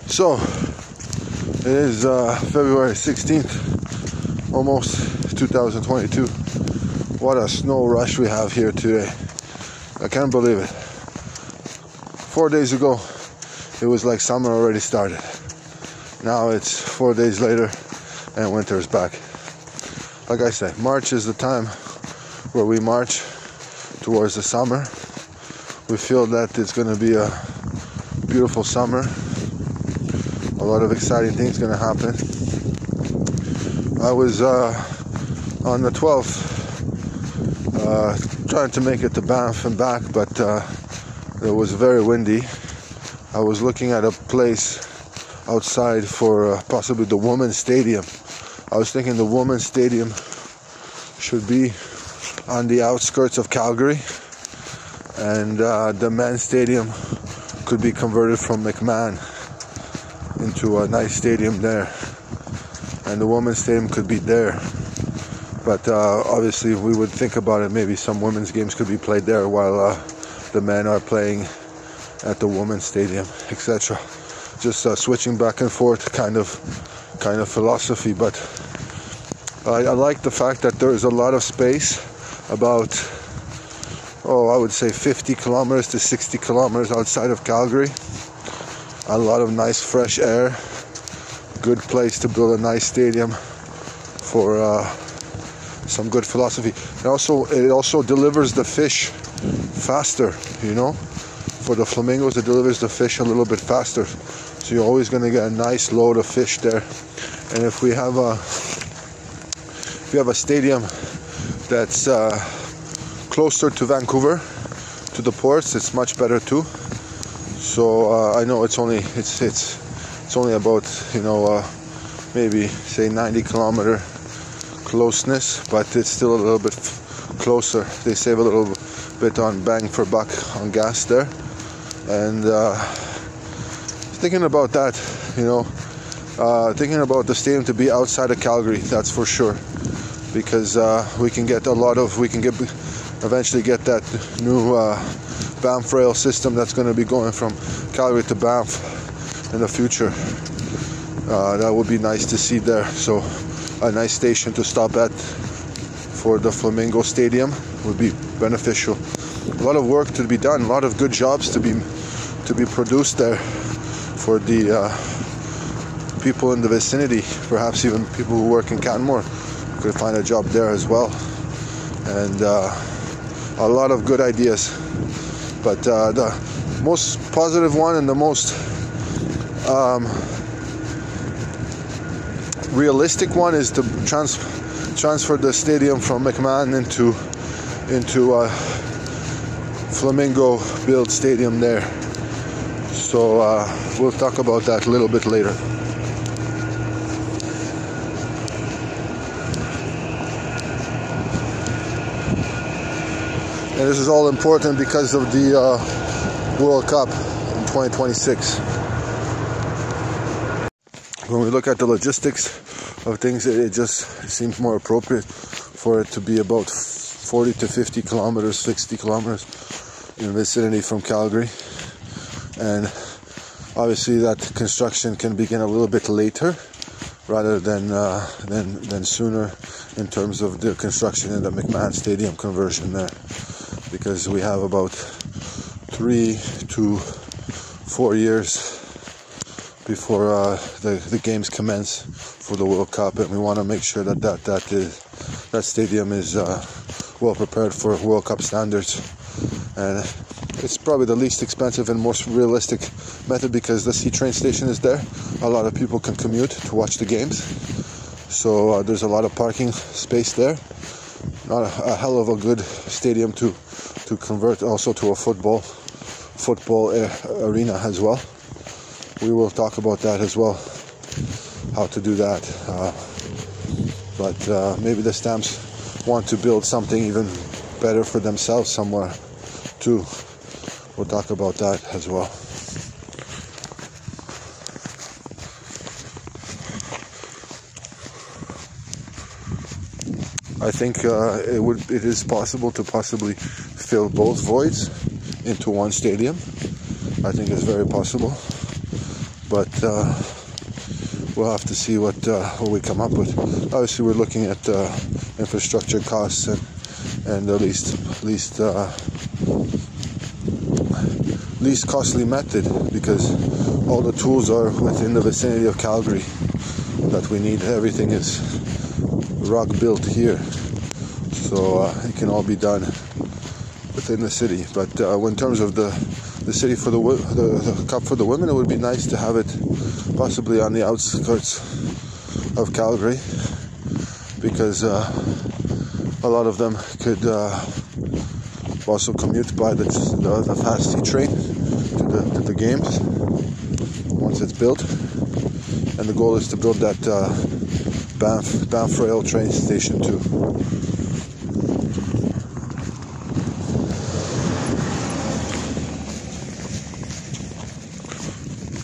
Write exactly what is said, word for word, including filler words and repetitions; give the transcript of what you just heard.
So, it is uh, February sixteenth, almost two thousand twenty-two. What a snow rush we have here today. I can't believe it. Four days ago, it was like summer already started. Now it's four days later, and winter is back. Like I said, March is the time where we march towards the summer. We feel that it's going to be a beautiful summer. A lot of exciting things going to happen. I was uh, on the twelfth uh, trying to make it to Banff and back, but uh, it was very windy. I was looking at a place outside for uh, possibly the women's stadium. I was thinking the women's stadium should be on the outskirts of Calgary, and uh, the men's stadium could be converted from McMahon into a nice stadium there, and the women's stadium could be there. But uh, obviously we would think about it, maybe some women's games could be played there while uh, the men are playing at the women's stadium, et cetera. Just uh, switching back and forth kind of kind of philosophy. But I, I like the fact that there is a lot of space, about oh I would say fifty kilometers to sixty kilometers outside of Calgary. A lot of nice fresh air, good place to build a nice stadium for uh, some good philosophy. And also, it also delivers the fish faster, you know. For the flamingos, it delivers the fish a little bit faster. So you're always going to get a nice load of fish there. And if we have a, if we have a stadium that's uh, closer to Vancouver, to the ports, it's much better too. So uh, I know it's only it's it's it's only about you know uh, maybe say ninety kilometer closeness, but it's still a little bit f- closer. They save a little bit on bang for buck on gas there, and uh, thinking about that, you know, uh, thinking about the stadium to be outside of Calgary, that's for sure, because uh, we can get a lot of we can get eventually get that new. Uh, Banff rail system that's going to be going from Calgary to Banff in the future. Uh, that would be nice to see there. So a nice station to stop at for the Flamingo Stadium would be beneficial. A lot of work to be done, a lot of good jobs to be to be produced there for the uh, people in the vicinity. Perhaps even people who work in Canmore could find a job there as well. And uh, a lot of good ideas. But uh, the most positive one and the most um, realistic one is to trans- transfer the stadium from McMahon into into a Flamingo built stadium there. So uh, we'll talk about that a little bit later. And this is all important because of the uh, World Cup in twenty twenty-six. When we look at the logistics of things, it just seems more appropriate for it to be about forty to fifty kilometers, sixty kilometers in the vicinity from Calgary. And obviously that construction can begin a little bit later rather than uh, than, than sooner in terms of the construction in the McMahon Stadium conversion there. Because we have about three to four years before uh, the the games commence for the World Cup, and we want to make sure that that that is that stadium is uh, well prepared for World Cup standards. And it's probably the least expensive and most realistic method because the C train station is there. A lot of people can commute to watch the games, so uh, there's a lot of parking space there. Not a, a hell of a good stadium to. to convert also to a football football uh, arena as well. We will talk about that as well, how to do that. Uh, but uh, maybe the Stamps want to build something even better for themselves somewhere too. We'll talk about that as well. I think uh, it would it is possible to possibly fill both voids into one stadium. I think it's very possible but uh, we'll have to see what uh, what we come up with. Obviously, we're looking at uh, infrastructure costs and and the least least uh, least costly method, because all the tools are within the vicinity of Calgary that we need. Everything is rock built here, so uh, it can all be done within the city. But uh, in terms of the the city for the, the the cup for the women, it would be nice to have it possibly on the outskirts of Calgary, because uh, a lot of them could uh, also commute by the, the the fast C train to the to the games once it's built. And the goal is to build that uh, Banff Banff Rail train station too.